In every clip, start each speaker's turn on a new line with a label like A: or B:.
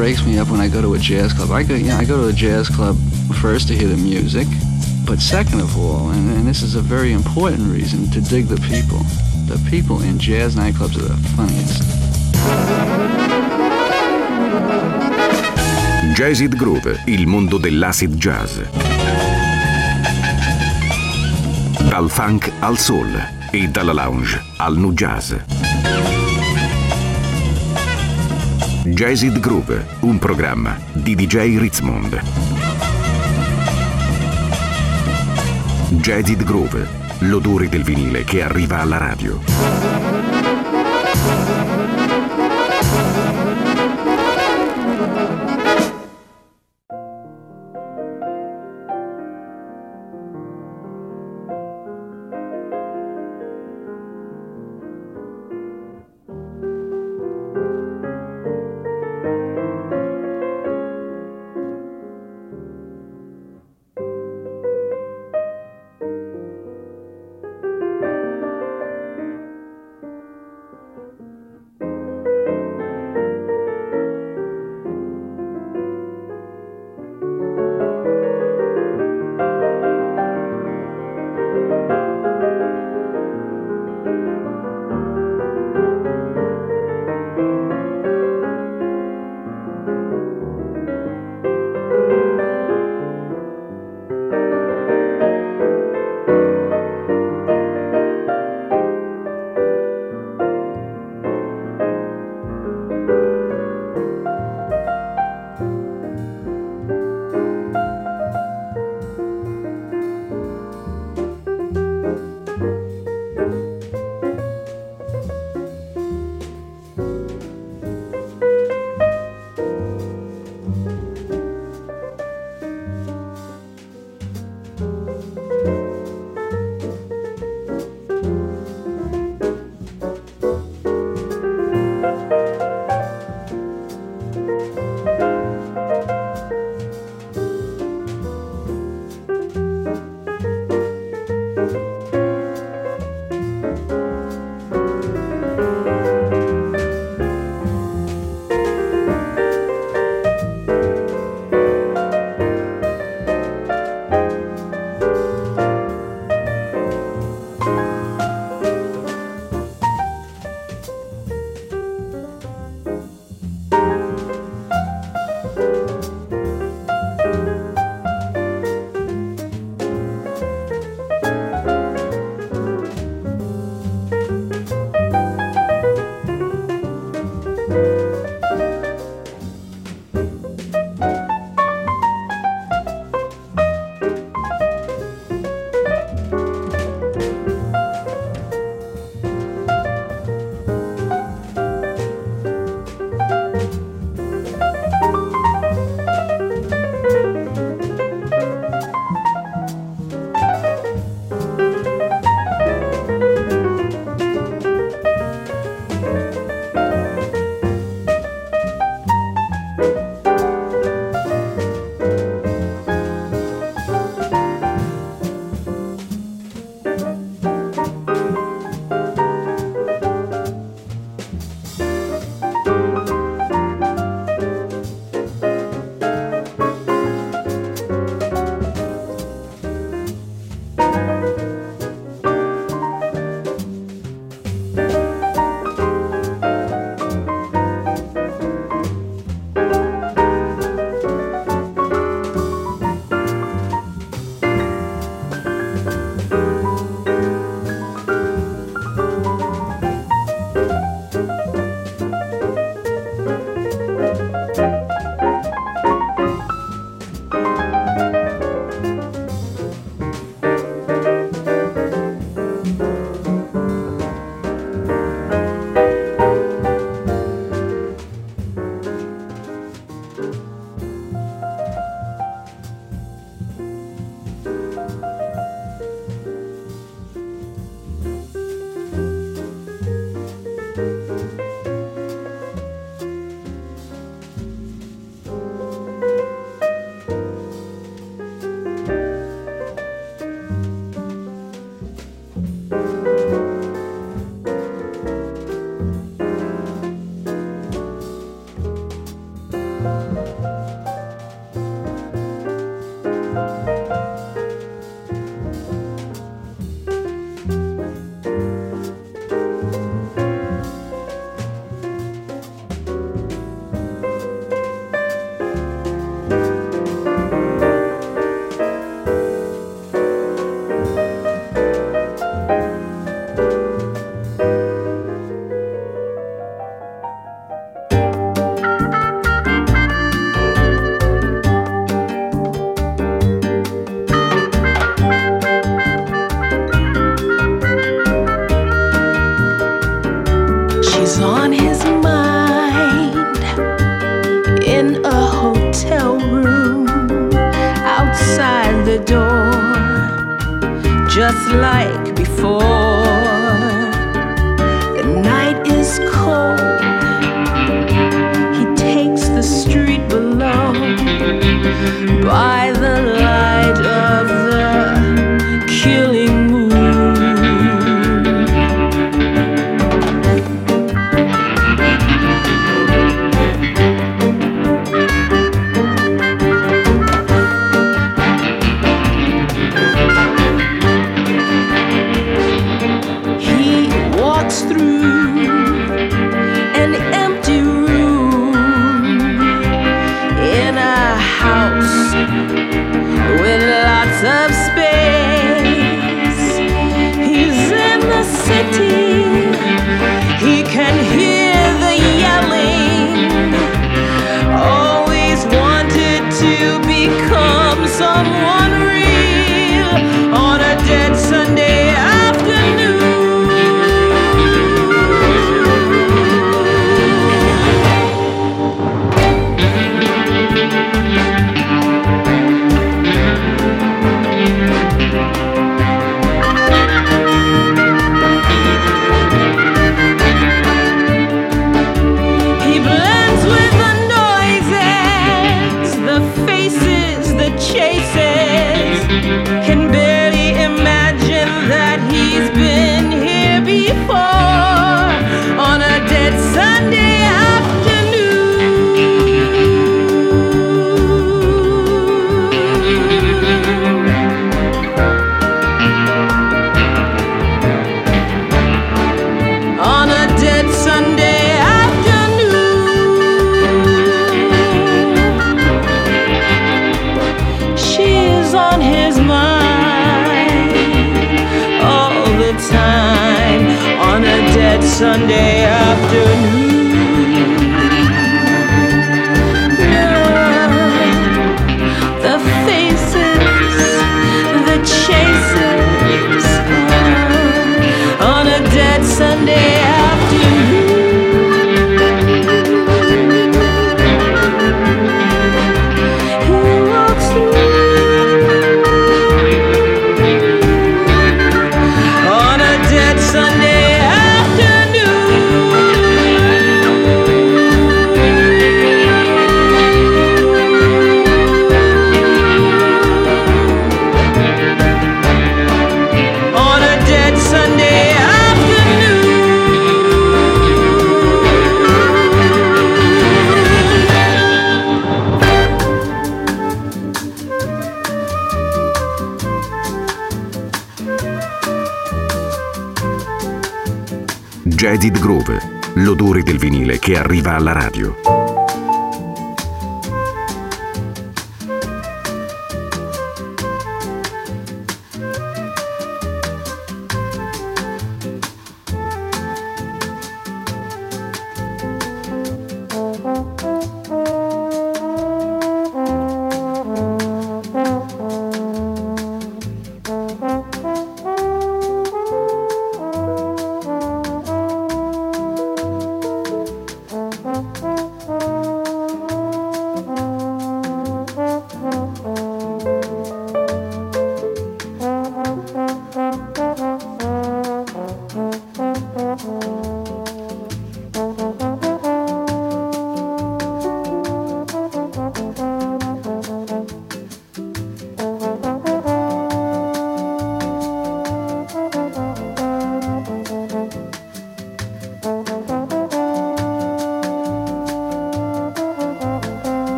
A: breaks me up when I go to a jazz club. I go to a jazz club first to hear the music, but second of all, and this is a very important reason, to dig the people. The people in jazz nightclubs are the funniest.
B: Jazzid Groove, il mondo dell'acid jazz. Dal funk al soul e dalla lounge al nu jazz. Jazzid Groove, un programma di DJ Ritzmond. Jazzid Groove, l'odore del vinile che arriva alla radio.
C: She's on his mind in a hotel room outside the door, just like before. The night is cold. He takes the street below by the light of the killing moon. He walks through an empty room in a house with lots of space. He's in the city, he can hear the yelling. Always wanted to become someone real on a dead Sunday afternoon. He blends with the noises, the faces, the chases. Can barely imagine that he's been here before on a dead Sunday afternoon. On a dead Sunday afternoon. She's on his mind all the time on a dead Sunday afternoon. The faces, the chases, on a dead Sunday afternoon. He walks through on a dead Sunday afternoon. On a dead Sunday afternoon.
B: Jaded Groove, l'odore del vinile che arriva alla radio.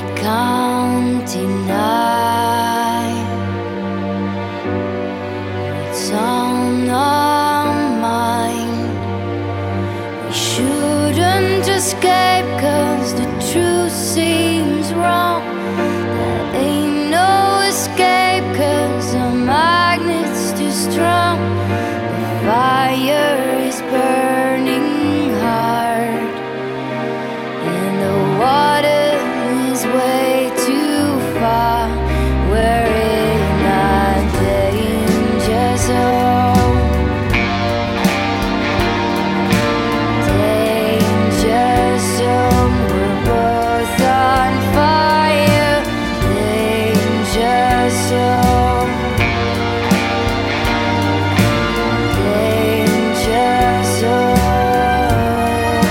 D: county night. It's on our mind. We shouldn't escape, 'cause the truth seems wrong. There ain't no escape, 'cause the magnet's too strong. The fire is burning hard, and the water is way too far. We're in a danger zone. Danger zone. We're both on fire. Danger zone. Danger zone.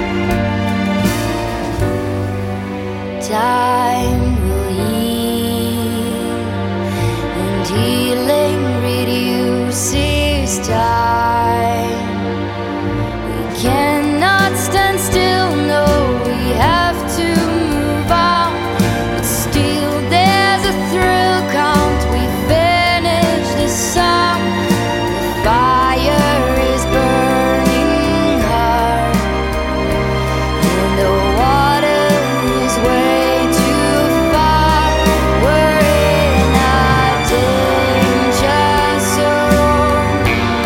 D: Time will heal, and healing reduces time. We cannot stand still, no, we have to move on. But still there's a thrill count, we finish the song. The fire is burning hard, and the water is way too far. We're in a danger zone.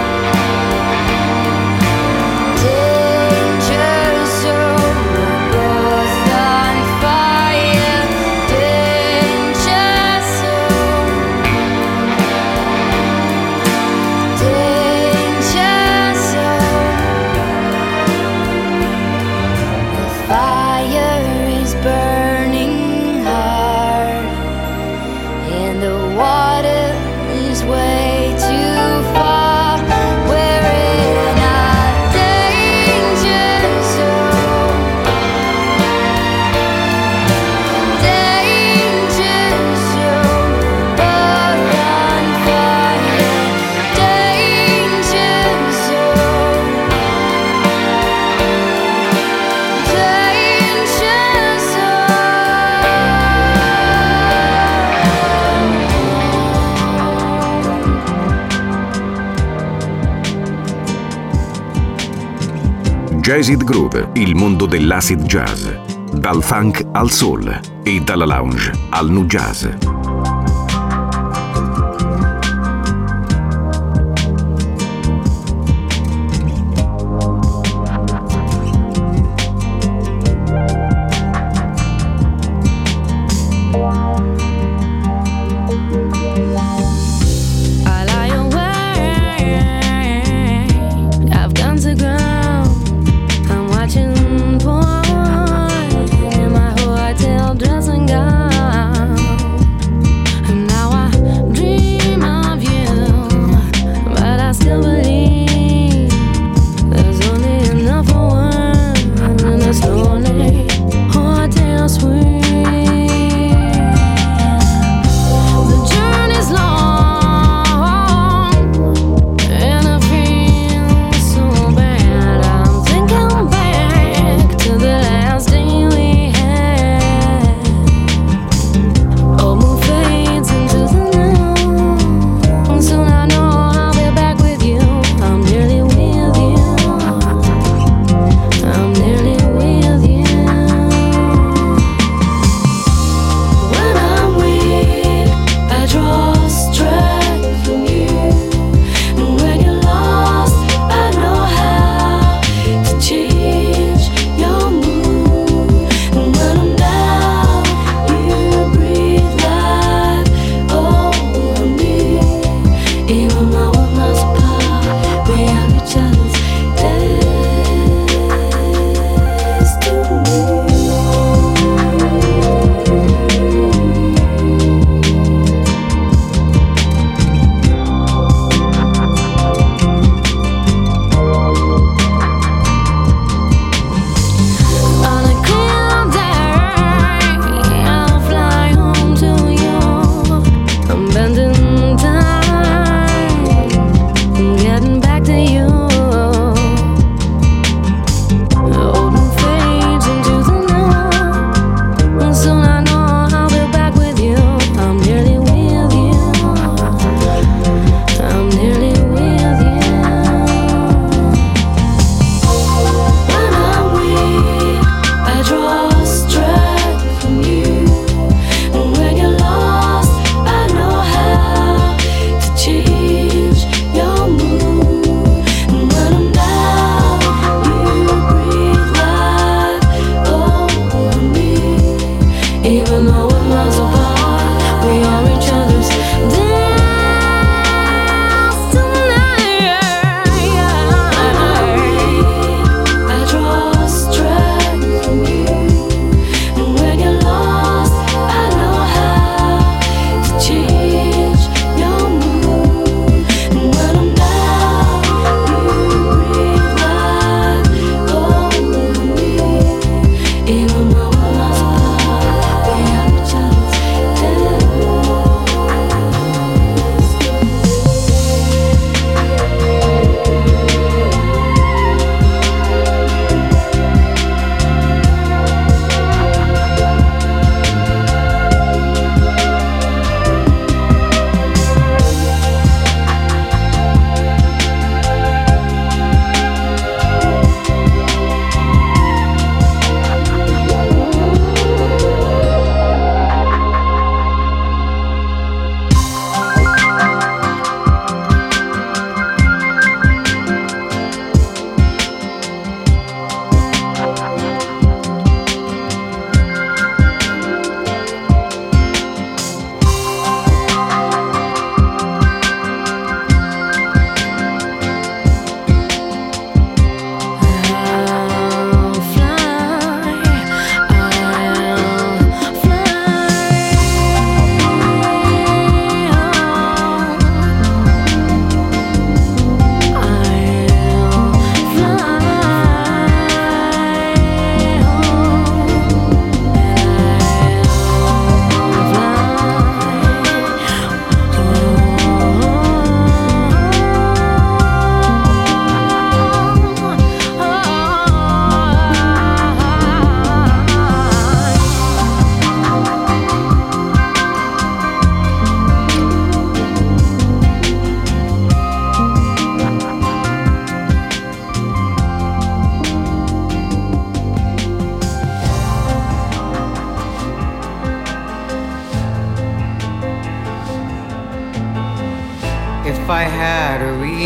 D: Danger zone. We're both on fire. Danger zone. Danger zone. The fire is burning hard, and the water is way too far. We're in a danger zone. Danger zone. Both on fire. Danger zone. Danger zone.
B: Jazzid Groove, il mondo dell'acid jazz. Dal funk al soul e dalla lounge al nu jazz.
D: I lie awake, I've gone to ground. I'm watching porn in my hotel dressing gown.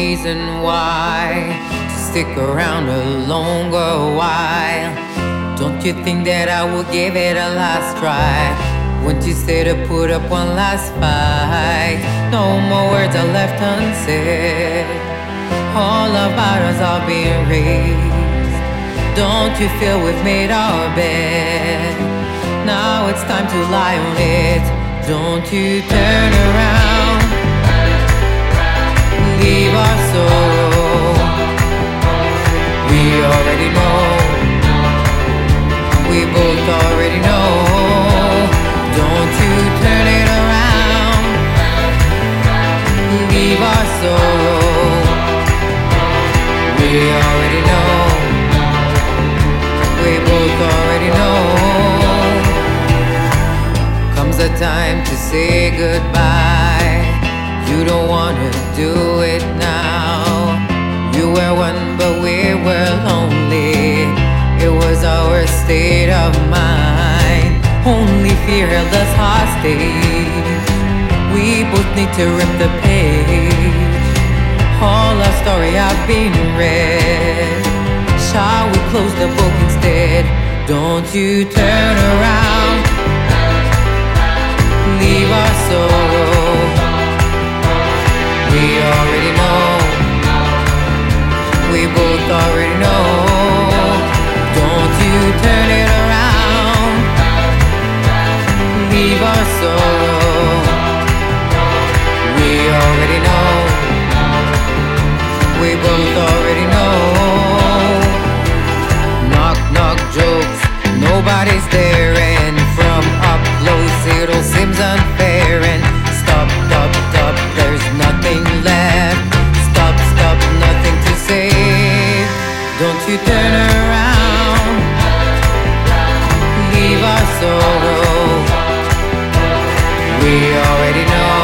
E: reason why to stick around a longer while. Don't you think that I will give it a last try? Won't you stay to put up one last fight? No more words are left unsaid. All about us are being raised. Don't you feel we've made our bed? Now it's time to lie on it. Don't you turn around. Leave our sorrow. We already know. We both already know. Don't you turn it around. Leave our sorrow. We already know. We both already know. Comes a time to say goodbye. You don't wanna do it now. You were one but we were lonely. It was our state of mind. Only fear held us hostage. We both need to rip the page. All our story have been read. Shall we close the book instead? Don't you turn around. Leave our sorrow. We already know. We both already know. Don't you turn it around. Leave our sorrow. We already know. We both already know. Knock, knock jokes, nobody's there. And from up close it all seems unfair. And stop, stop, stop, there's nothing left. Stop, stop, nothing to say. Don't you turn around. Leave our sorrow. We already know.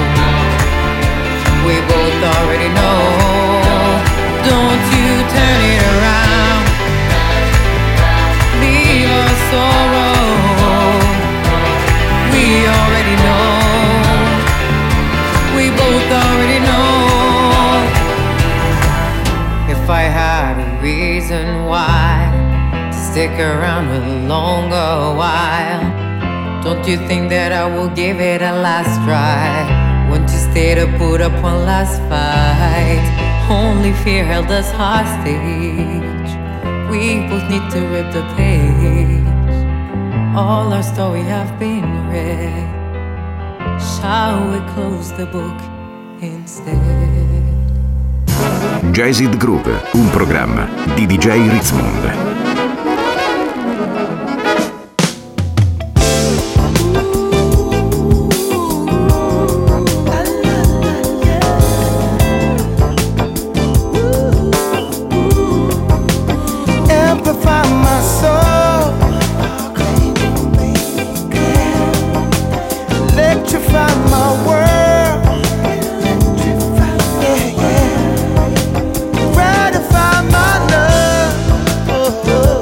E: We both already know. Don't you turn it around. Leave our sorrow. We already know. We both already know. If I had a reason why to stick around a longer while, don't you think that I will give it a last try? Won't you stay to put up one last fight? Only fear held us hostage. We both need to rip the page. All our story have been read. Shall we close the book instead?
B: Jazzed Groove, un programma di DJ Ritzmond.
F: Gratify my love.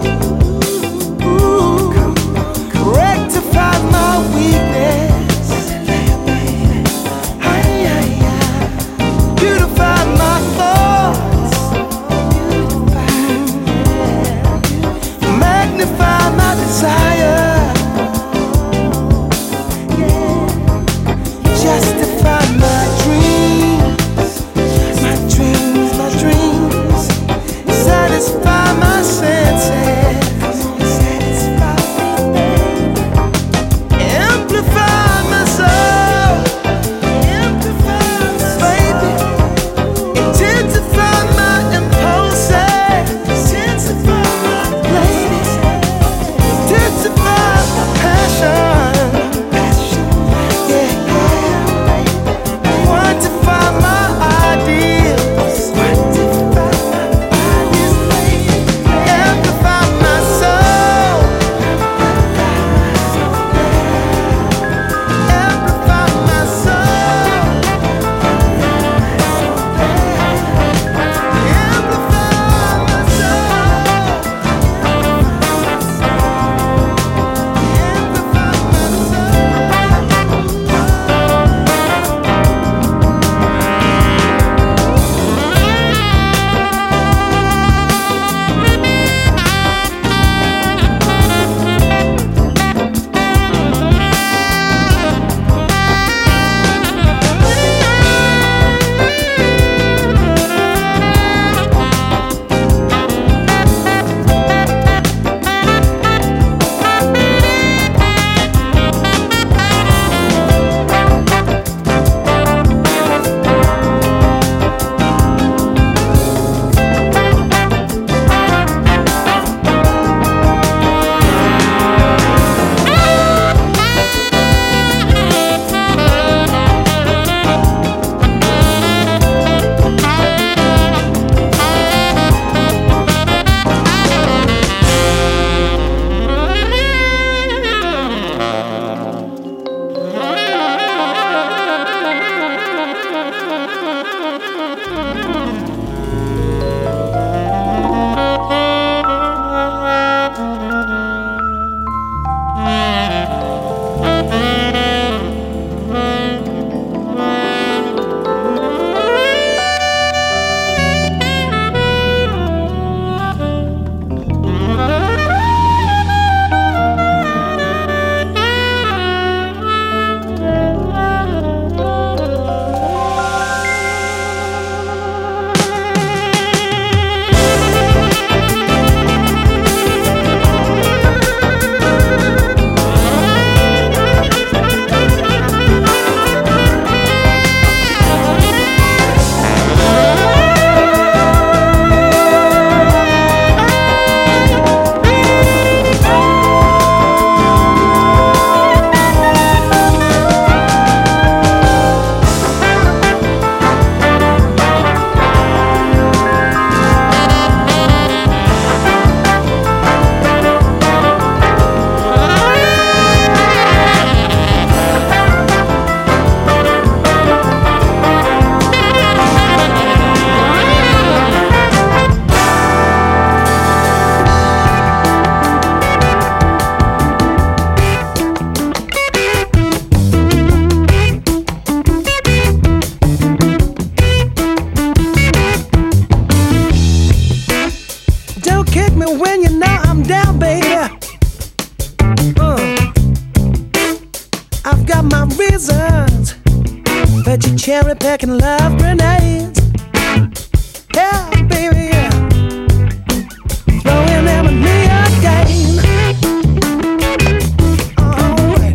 F: Even when you know I'm down, baby. I've got my reasons, but you cherry picking love grenades. Yeah, baby, yeah. Throwing them at me again. Alright.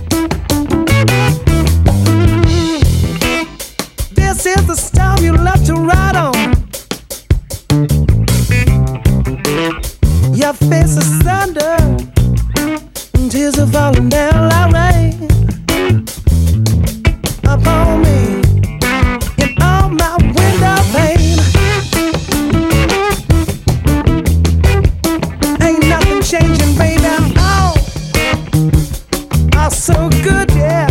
F: This is the storm you love to ride on. Your face is thunder, and tears are falling down like rain upon me in all my window pane. Ain't nothing changing, baby. All so good, yeah.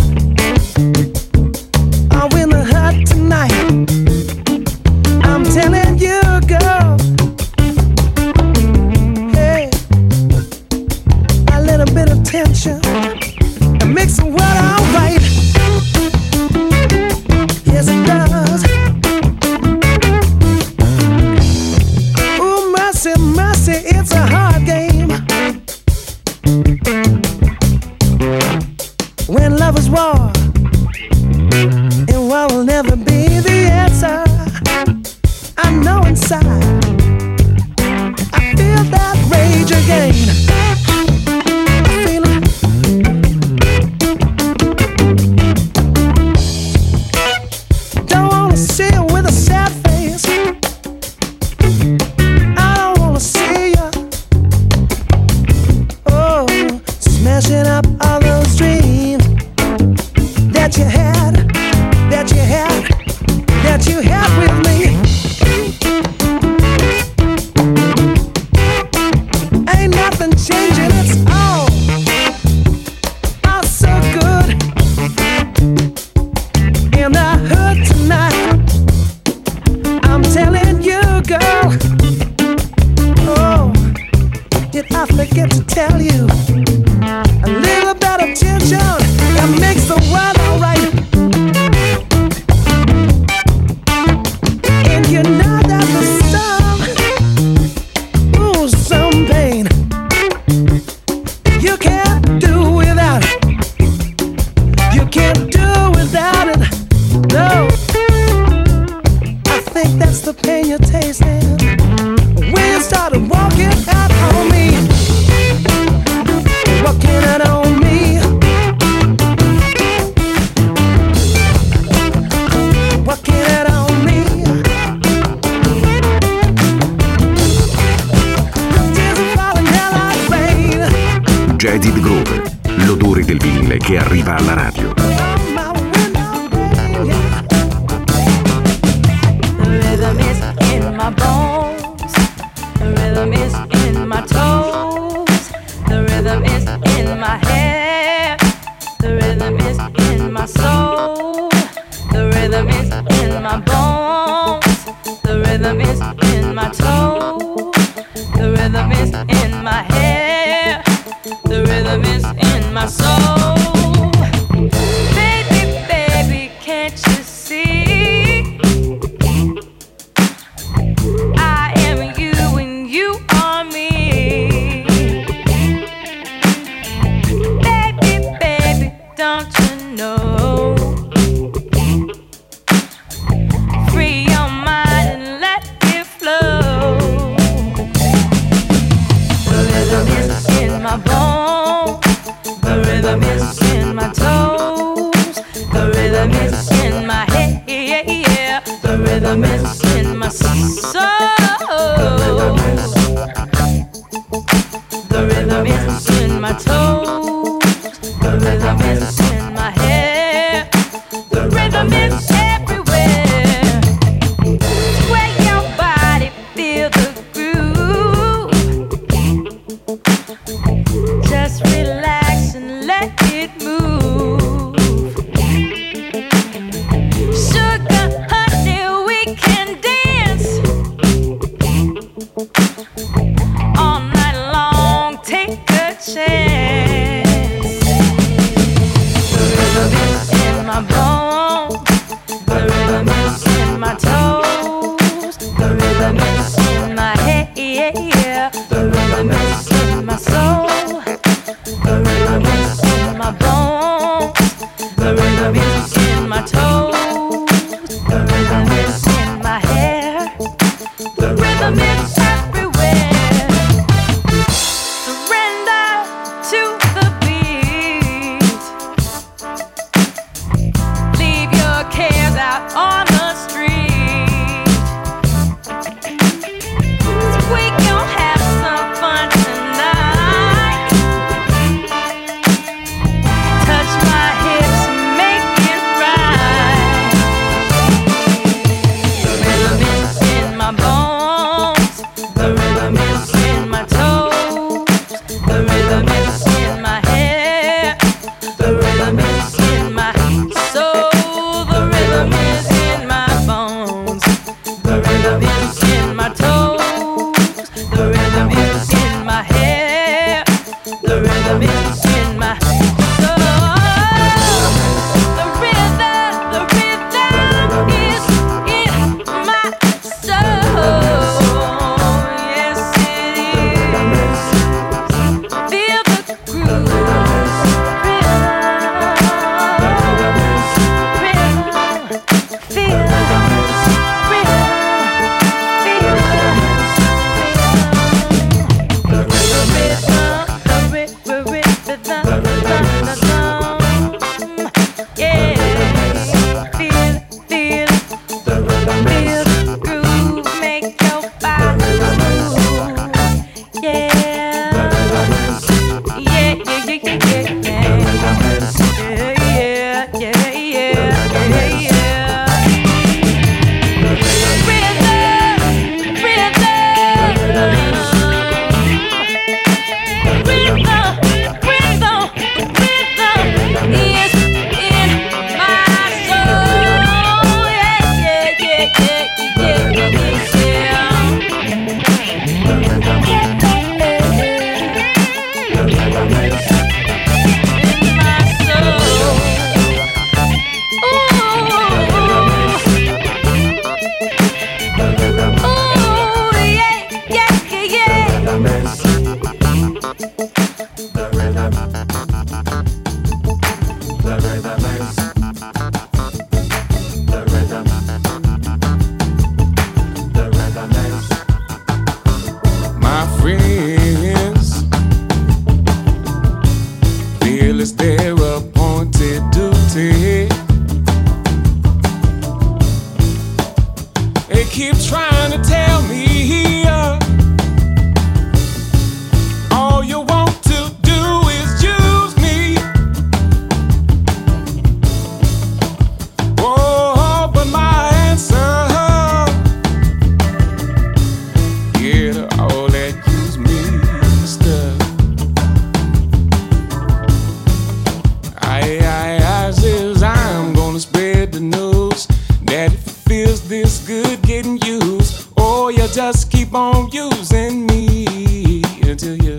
F: I'm in the hut tonight. I'm telling you, girl. Hey, a little bit of tension and makes the world alright. Yes, it does. Ooh, mercy, mercy, it's a hard game. When love is war, and war will never be the answer. I know inside, I feel that rage again. I feel it. Don't wanna see you with a sad face. I don't wanna see you. Oh, smashing up all those dreams that you had, that you had, that you had with me. Ain't nothing changing, it's all so good. In the hood tonight, I'm telling you, girl. Oh, did I forget to tell you? A little bit of tension that makes the world alright. And you know that the storm, ooh, some pain you can't do without it. You can't do without it. No, I think that's the pain you're tasting when you started walking out on me. Walking out on me. Walking out on me. Tears are falling down like rain.
B: Jaded Grove, l'odore del vinile che arriva alla radio.
F: On my window pane, yeah.
D: The rhythm is in my bones. The rhythm is in my toes. The rhythm is in my hair. The rhythm is in my soul. The rhythm is in my bones. The rhythm is in my toes. The rhythm is in my hair. The rhythm is in my soul. Baby, baby, can't you see? I am you and you are me. Baby, baby, don't you know? Free your mind and let it flow. The rhythm is in my bones. The rhythm is in my toes. The rhythm is in my head. The rhythm is in my soul. The rhythm is in my toes. The rhythm is in my hair. The rhythm is everywhere. Sway your body, feel the groove. Just relax and let it move. Sugar, honey, we can dance all night long. Take a chance. The rhythm is in my bones. The rhythm is in my toes. The rhythm is in my head. The
G: just keep on using me until you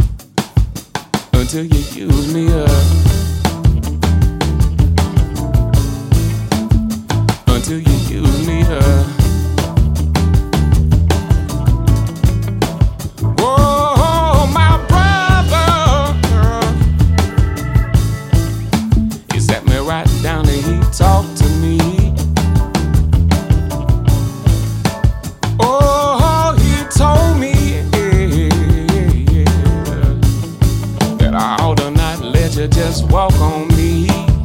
G: use me up. Until you use me up. Oh, my brother, he sat me right down and he talked to me. Oh, he told me that I ought to not let you just walk on me.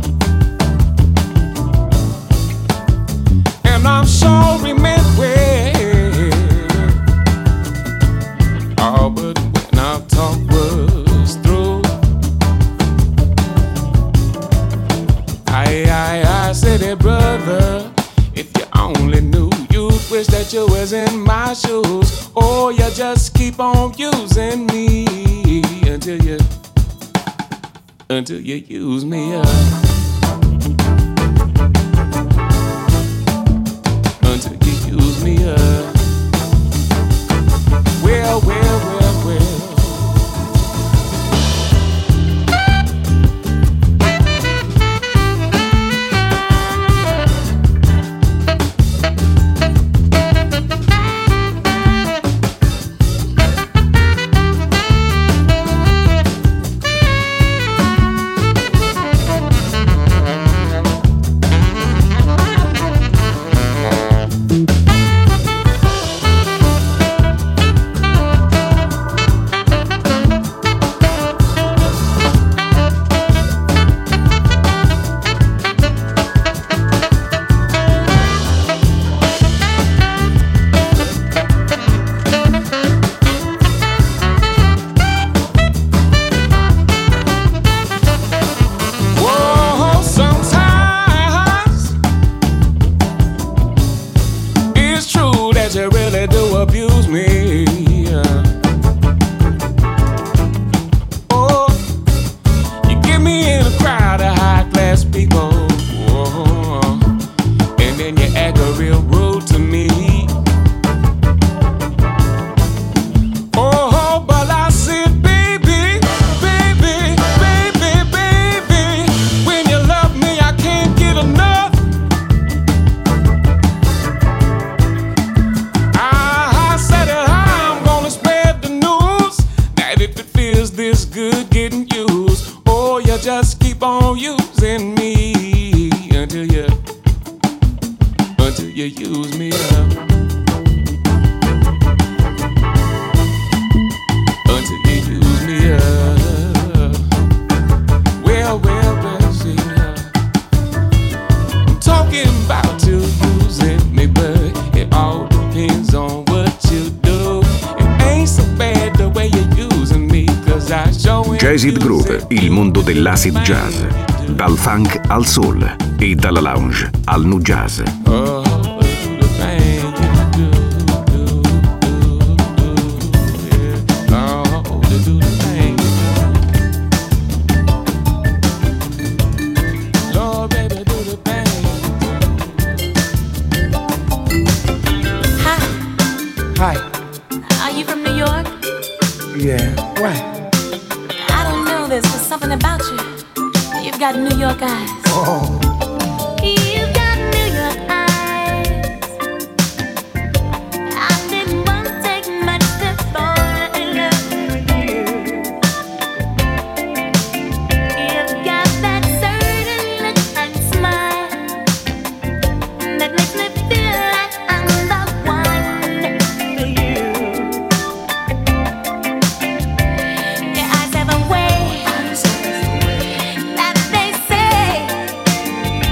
G: And I'm sure he meant well. Oh, but when our talk was through, I said, hey, brother, if you only knew, you'd wish that you was in my shoes. Oh, you just keep on using me until you use me up. Until you use me up. Well, well, well, well.
B: Jazz It Groove, il mondo dell'acid jazz, dal funk al soul e dalla lounge al nu jazz.
F: Hi.
D: Are you from New York?
F: Yeah. Why?
D: I don't know, there's just something about you. You've got New York eyes.
F: Oh.
D: You've got New York eyes. I didn't want to take much to fall in love with you. You've got that certain look and smile that makes me feel like I'm the one for you. Your eyes have a way that they say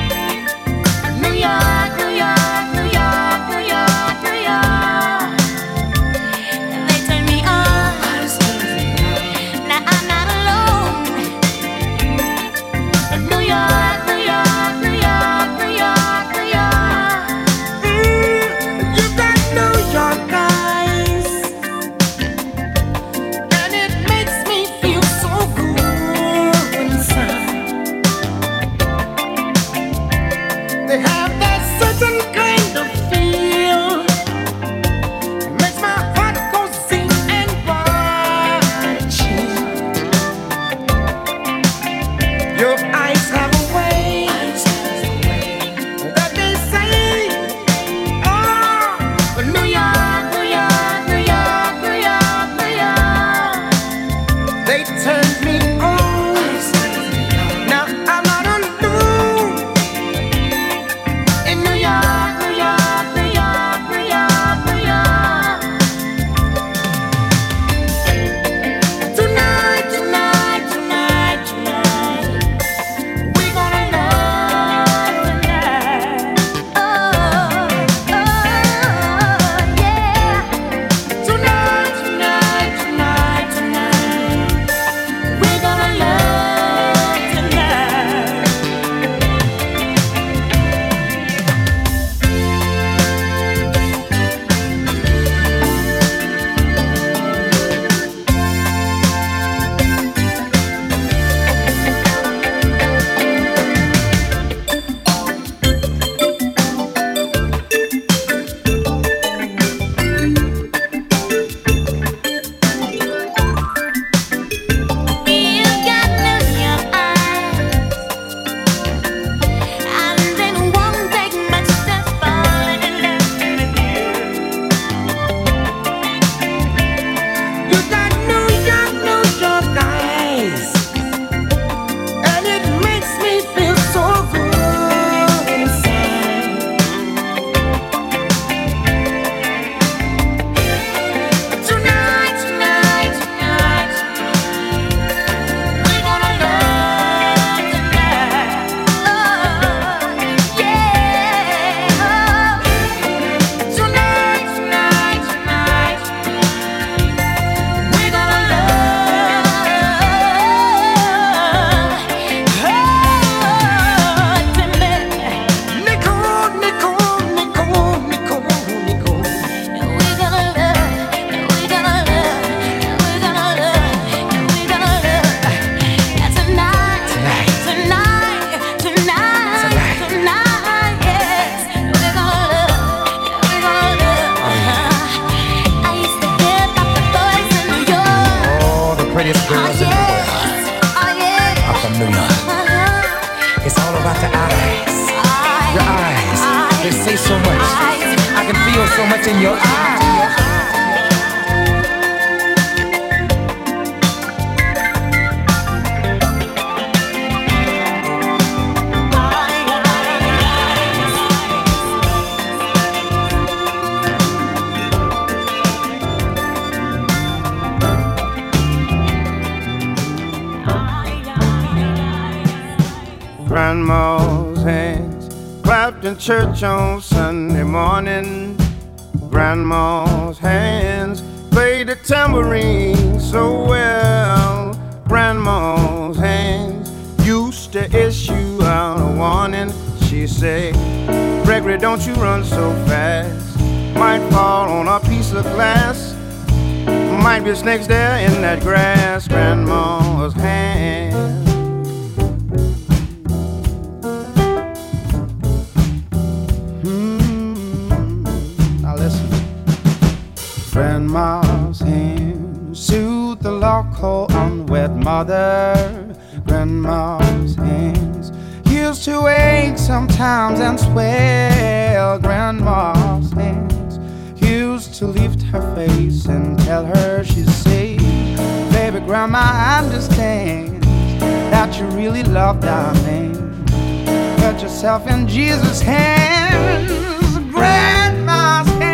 H: so much. I can feel so much in your eyes.
I: Grandma's hands clapped in church on Sunday morning. Grandma's hands played the tambourine so well. Grandma's hands used to issue out a warning. She said, Gregory, don't you run so fast. Might fall on a piece of glass. Might be snakes there in that grass. Grandma's hands. Grandma's hands soothe the local unwed mother. Grandma's hands used to ache sometimes and swell. Grandma's hands used to lift her face and tell her she's safe. Baby, Grandma, I understand that you really love darling. Put yourself in Jesus' hands. Grandma's hands.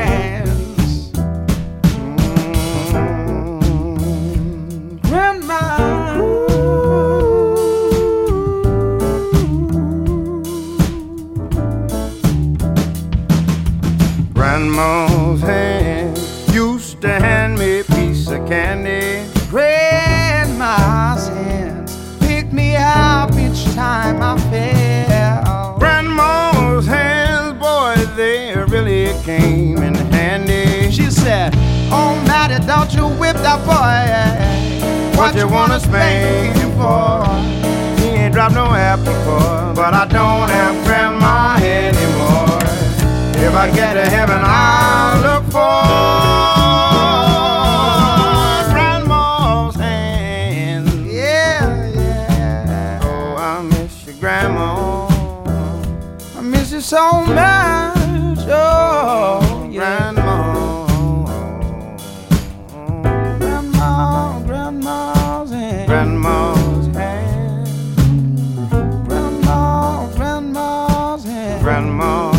I: Grandma's hands used to hand me a piece of candy. Grandma's hands picked me up each time I fell. Grandma's hands, boy, they really came in handy. She said, oh, Matty, don't you whip that boy. What you wanna spank him for? He ain't dropped no apple core, but I don't have Grandma anymore. If I get to heaven, I'll look for Grandma's hand. Yeah, yeah. Oh, I miss you, Grandma. I miss you so much. Oh, yeah. Grandma's hand. Grandma's hand. Grandma's hand. Grandma's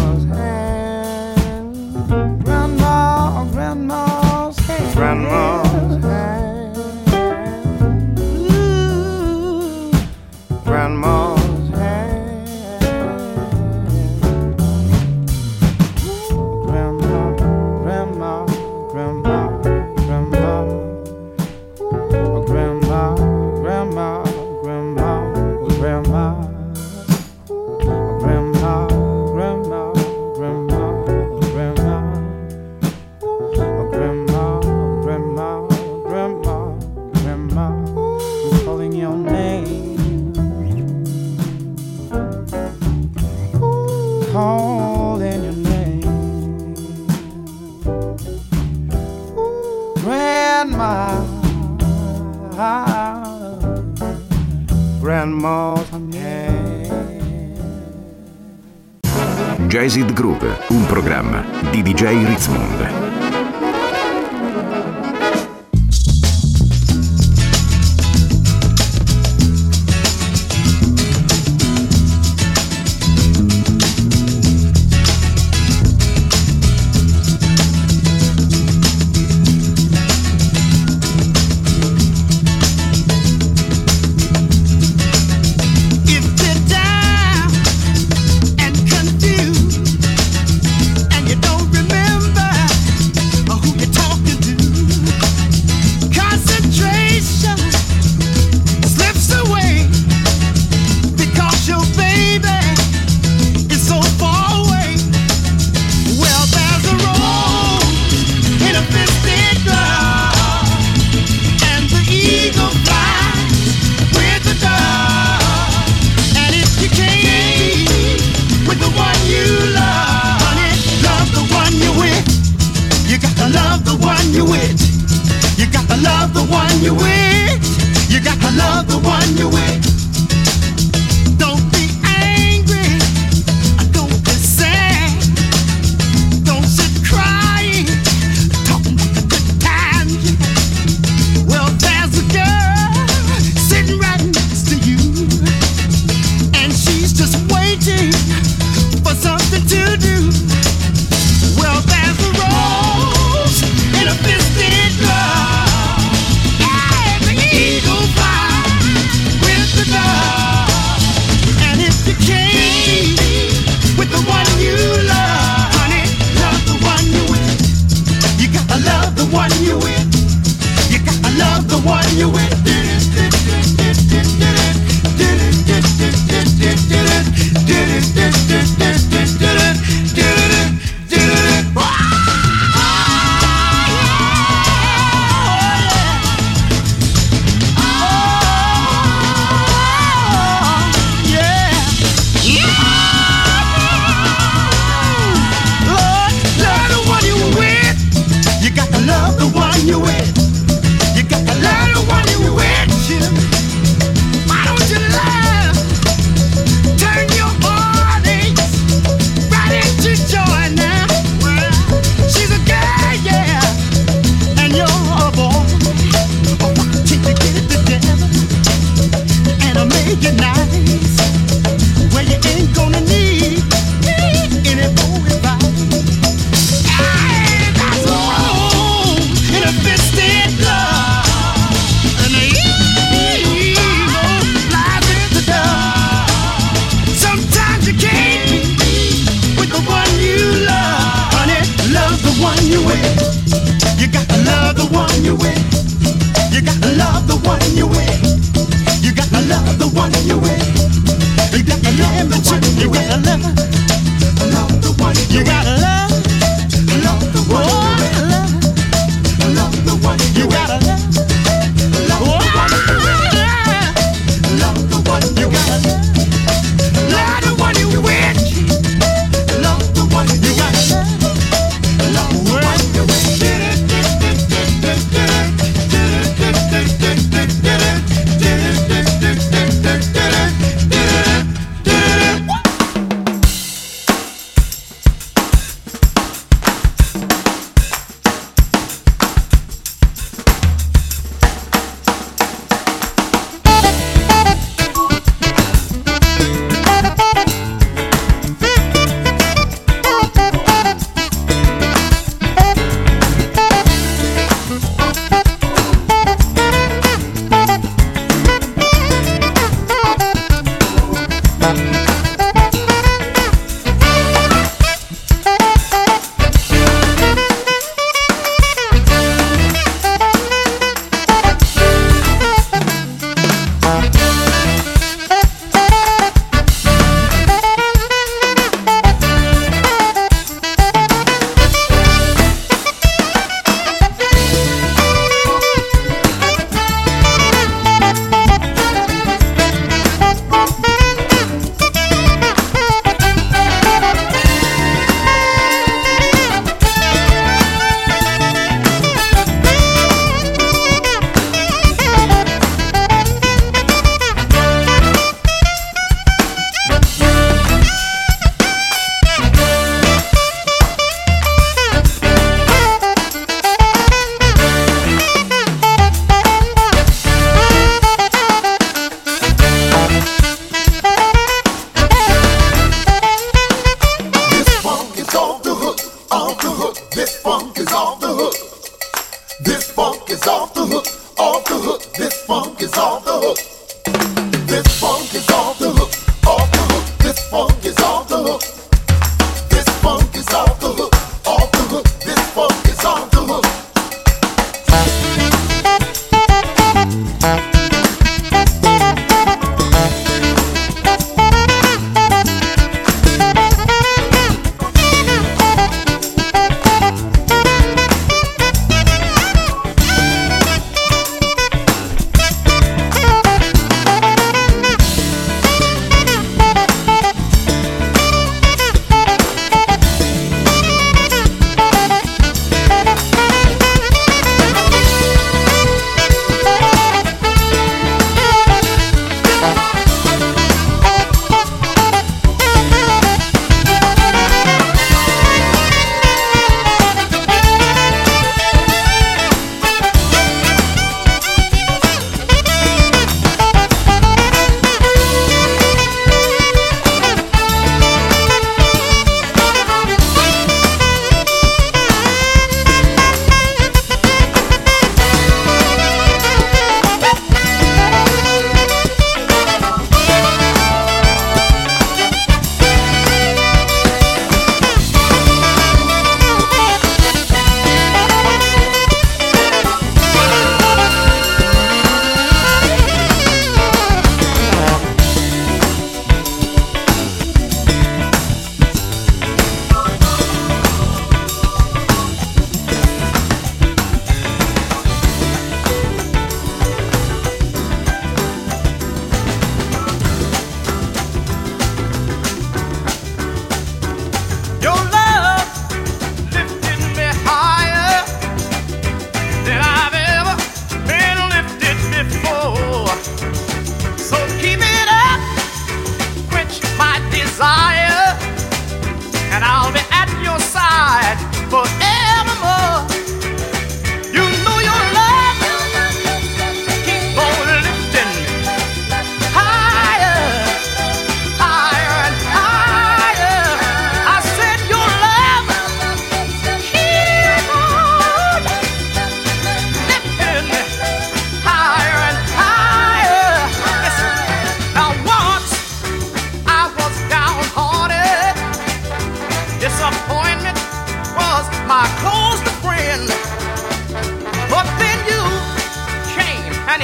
I: Grandma's hand. Ooh. Grandma's hand. Grandma, grandma, grandma, grandma. Oh, grandma, grandma, grandma, oh, grandma. Oh, grandma, grandma, grandma, oh, grandma. Oh, grandma. Grandma, grandma, grandma, I'm calling your name. Calling your name. Grandma, grandma's hand.
B: Jazzed Groove, un programma di DJ Ritzmond.
J: you're with. You got to love the one you're with. Don't be angry, don't be sad. one you with. You gotta love the one you with. You with, you got to love the one you with. Why don't you love? Turn your heartaches right into joy now. She's a girl, yeah, and you're a boy. Why don't you get it together and I'll make it nice, where you ain't gonna need any more advice. Hey, that's wrong. Fisted love, and the evil lies in the dark. Sometimes you can't be with the one you love, honey. Love the one you with. You got to love the one you with. You got to love the one you with. You got to love the one you with. You got to love the one you with. Love the one you got to love. Love the one you with. You gotta love the one you with. Love the one you gotta love the one you with. Love the one you gotta love the one you with.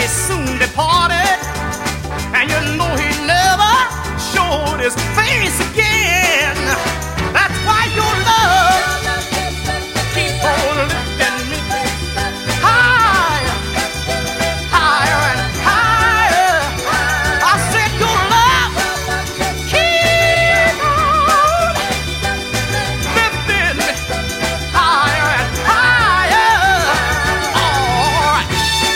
I: soon departed, and you know he never showed his face again. That's why your love keep on lifting me higher, higher and higher. I said your love keep on lifting me higher and higher. All right.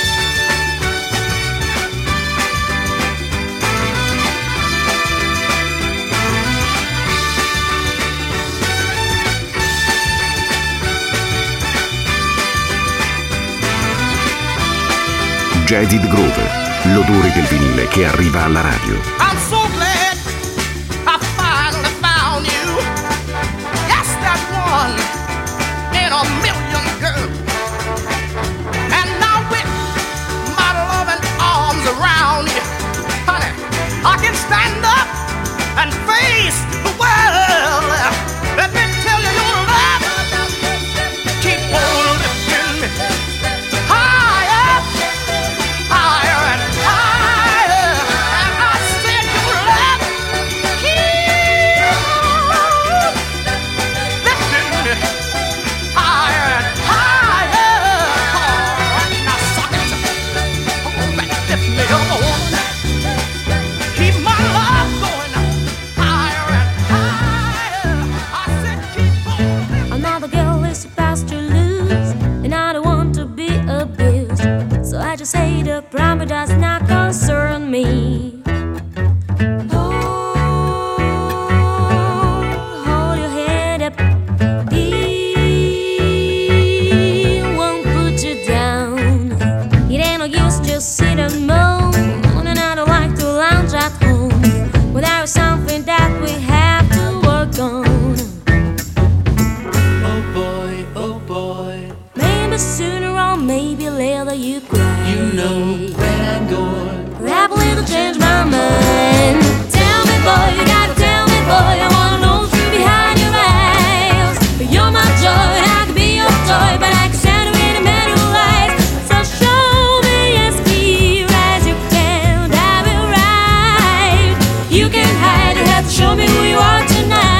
B: Jaded Grove, l'odore del vinile che arriva alla radio.
I: I'm so glad I finally found you. Yes, that one in a million, girl. And now with my loving arms around you, honey, I can stand up and face the world. Let me tell you, your love keep on lifting me higher, higher and higher. And I said your love keep on lifting me higher and higher. Oh, now suck it. Oh, back, lift me up. Keep my love going higher and higher. I said keep on.
K: Another girl is supposed to lose, and I don't want to be abused. So I just say the problem does not concern me. Hold your head up. He won't put you down. It ain't no use just sit and moan. And I don't like to lounge at home. But there is something that we have to work on.
L: Oh boy,
K: Maybe sooner or maybe later you cry.
L: you know where I'm going.
K: Probably to change my mind. Tell me, boy, you gotta tell me, boy. I wanna know the truth behind your eyes. You're my joy, and I can be your toy, but I can stand with a man who lies. So show me as clear as you can that we're right. You can hide, you have to show me who you are tonight.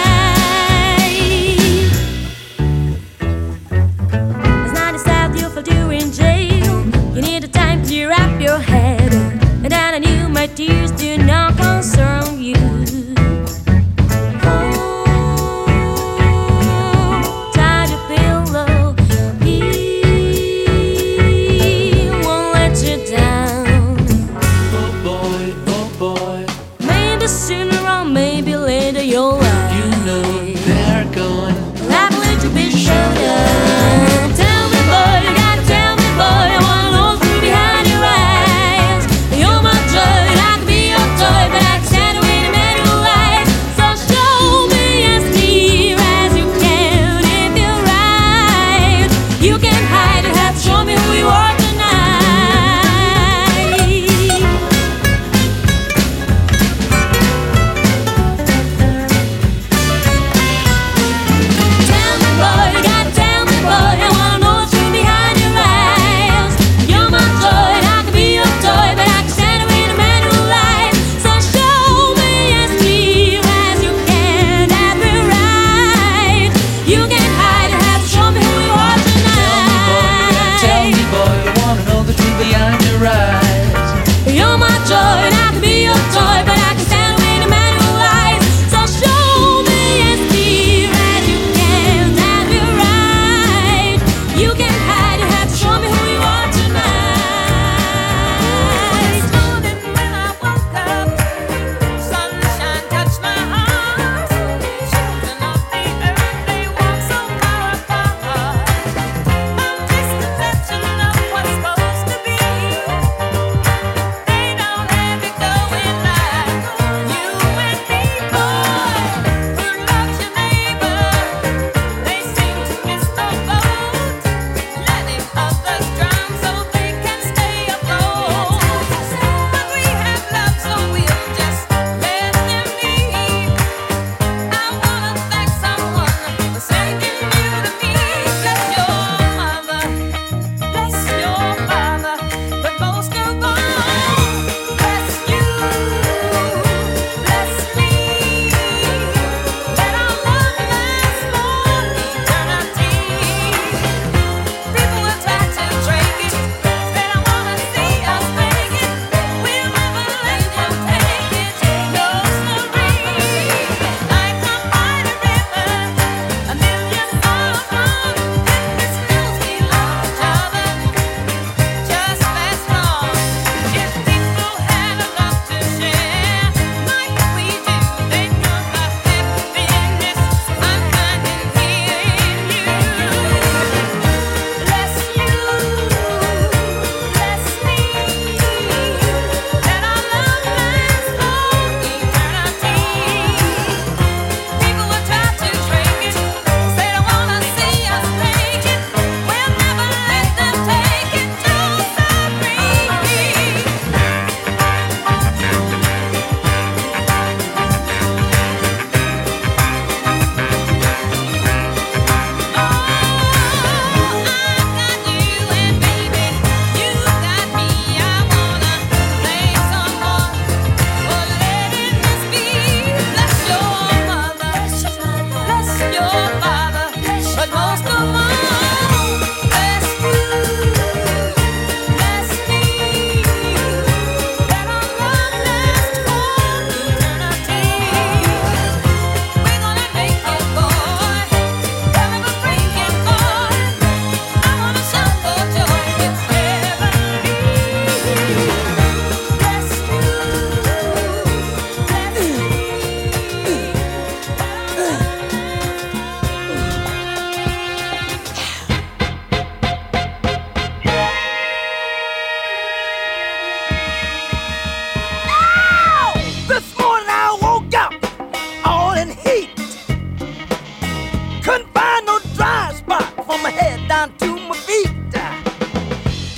K: It's not sad you feel you're in jail. You need the time to wrap your head. And then I knew my tears do not concern you. Tie your pillow. He won't let you down.
L: Oh boy,
K: Maybe sooner or maybe later you'll lie.
L: you know they're going.
K: Liable to be showed up. Tell me, boy, you gotta tell me, boy.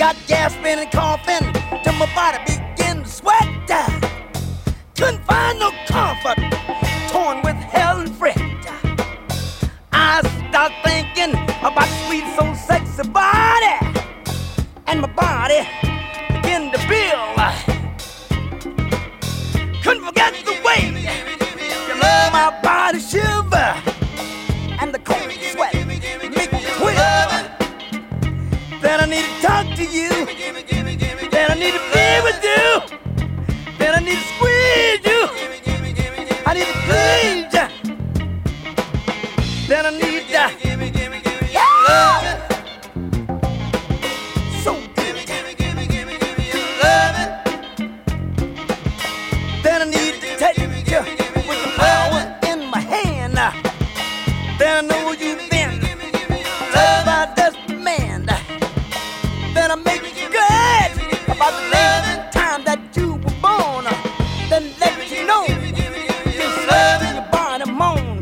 J: Got gasping and coughing till my body began to sweat. Couldn't find no comfort, torn with hell and fret. I start thinking about sweet, so sexy body, and my body began to build. Couldn't forget the way you love my body shiver, and the cold sweat make me quiver. That I need to talk to you, that I need to be with you, that I need to squeeze you, I need to please you, that I need to love it. So good, love it. That I need to take you with the power in my hand. That I know you've been loved by a desperate man. That I make you glad about the last time that you were born. Then let you know this love in your body moan.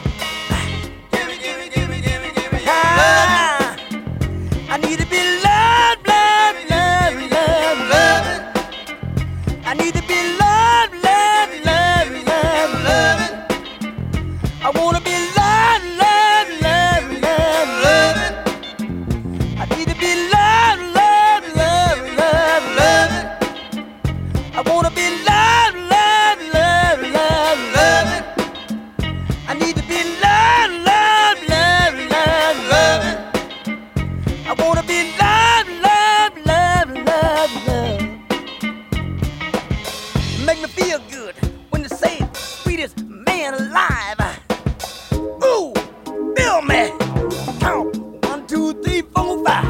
J: I need to be loved, loved, loved, loved, loved. I need to be loved, loved, loved, loved, loved. I wanna be loved, loved, loved, loved, loved. I need to be loved, loved, loved, loved, loved. I wanna be loved, loved, loved, loved, loved. I need to be loved, loved, loved, loved, loved. I wanna be loved, loved, loved, loved, loved. Make me feel good when you say sweetest man alive. Ooh, feel me. Count 1, 2, 3, 4, 5.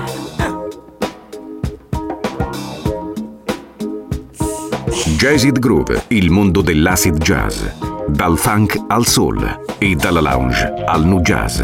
B: Jazzid Groove, il mondo dell'acid jazz. Dal funk al soul e dalla lounge al nu jazz.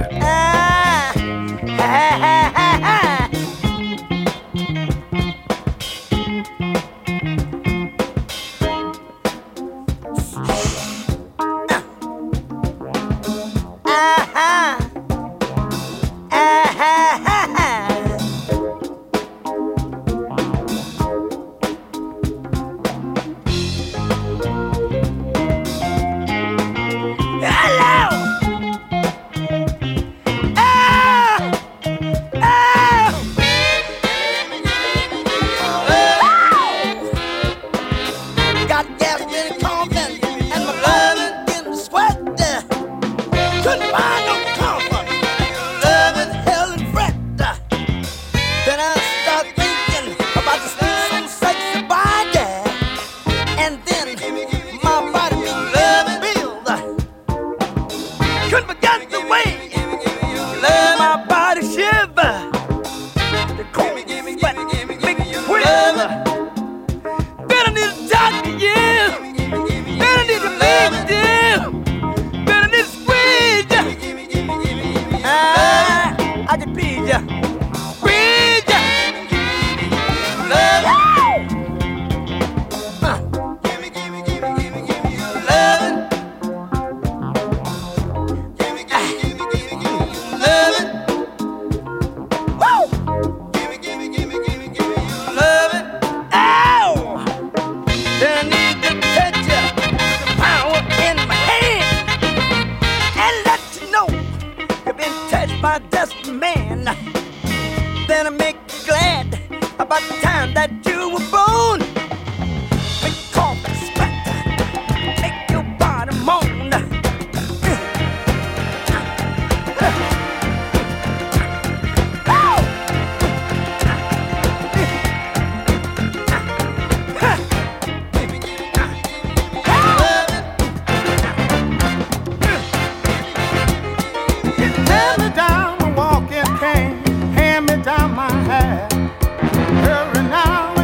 I: Hand me down my hair. Hurry now.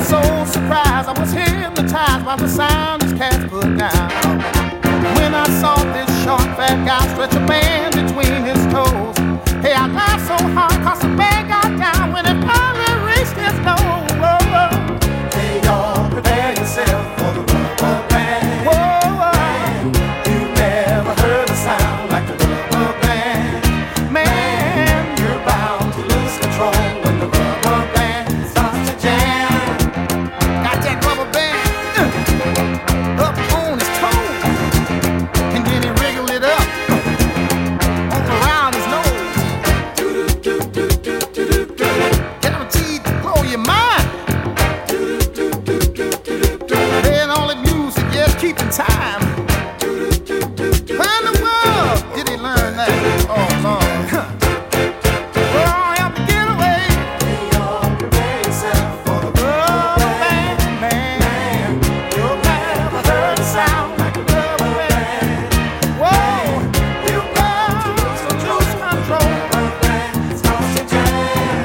I: so surprised, I was hypnotized by the sound this cat put down. When I saw this short fat guy stretch a band between his toes, hey, I laughed so hard 'cause the band got down when it finally reached his nose. Hey, y'all, prepare yourself for the rubber band. Whoa, you never heard a sound like the rubber band. Man, you're bound to lose control when the rubber band starts to jam. Got that rubber band up on his toe, and then he wriggled it up all around his nose. Guaranteed to blow your mind. Playing all the music, just keeping time. Where in the world did he learn that? Oh, Lord. Well, I have to get away. Prepare yourself for the rubber band, man. You've never heard a sound like a rubber band. Whoa, you got to lose control. Rubber band starts to jam.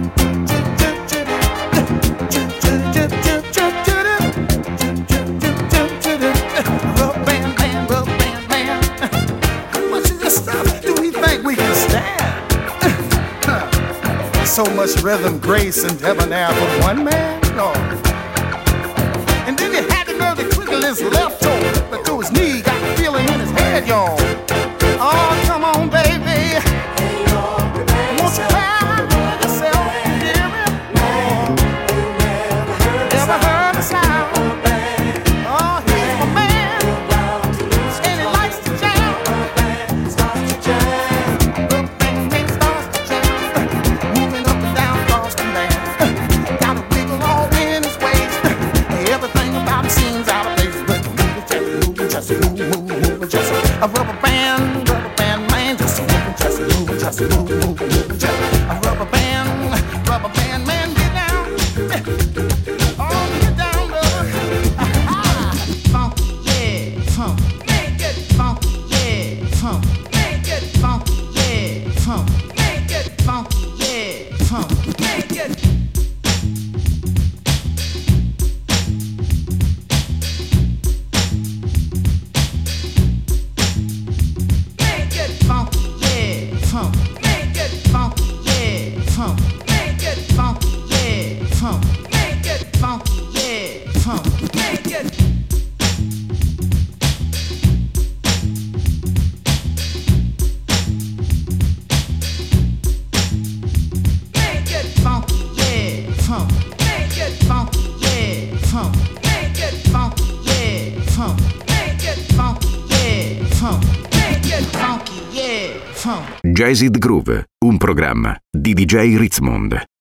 I: Rubber band, man, rubber band, man. How much of this stuff do we think we can stand? So much rhythm, grace, and debonair for one man? No. And then he had the nerve to twiddle his left toe, but through his knee, got the feeling in his head, y'all. Oh, come on, baby. Won't you cry yourself? Hear me? Never heard a sound. Oh, he's my man, and he likes to jam. Rubber band starts to jam. Moving up and down across the land. Got a wiggle all in his waist. Everything about him seems out of place, but just move, just a rubber band man, just move, just a rubber band man, get down. Oh, get down, brother. Funky, yeah, funk. Make it funky, yeah, funk. Make it funky, yeah, funk. Make it funky, yeah, funk. Make it. Make it funky, yeah, funk. Make it funky, yeah, funk. Make it funky, yeah, funk. Make it funky, yeah, funk. Make it. Make it funky, yeah, funk. Make it funky, yeah, funk. Make it funky, yeah, funk. Make it funky, yeah, funk. Make it funky, yeah, funk.
B: Jazz It Groove, un programma di DJ Ritzmond.